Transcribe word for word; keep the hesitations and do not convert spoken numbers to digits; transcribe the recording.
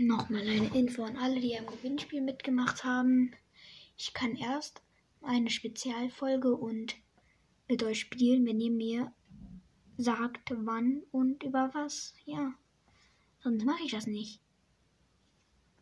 Nochmal eine Info an alle, die am Gewinnspiel mitgemacht haben. Ich kann erst eine Spezialfolge und mit euch spielen, wenn ihr mir sagt, wann und über was. Ja, sonst mache ich das nicht.